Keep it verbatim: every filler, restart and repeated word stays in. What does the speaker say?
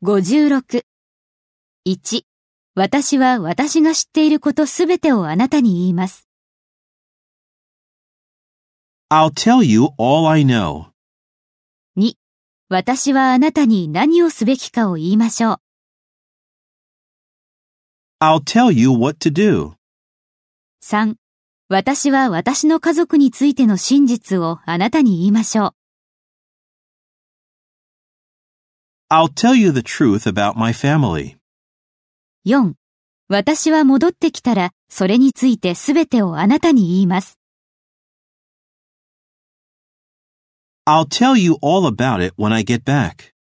ごじゅうろく。いち、私は私が知っていることすべてをあなたに言います。 I'll tell you all I know. に、私はあなたに何をすべきかを言いましょう。 I'll tell you what to do. さん、私は私の家族についての真実をあなたに言いましょう。 I'll tell you the truth about my family. よん、私は戻ってきたらそれについてすべてをあなたに言います。 I'll tell you all about it when I get back.